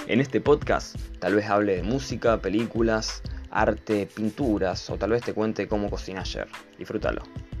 En este podcast tal vez hable de música, películas, arte, pinturas o tal vez te cuente cómo cociné ayer. Disfrútalo.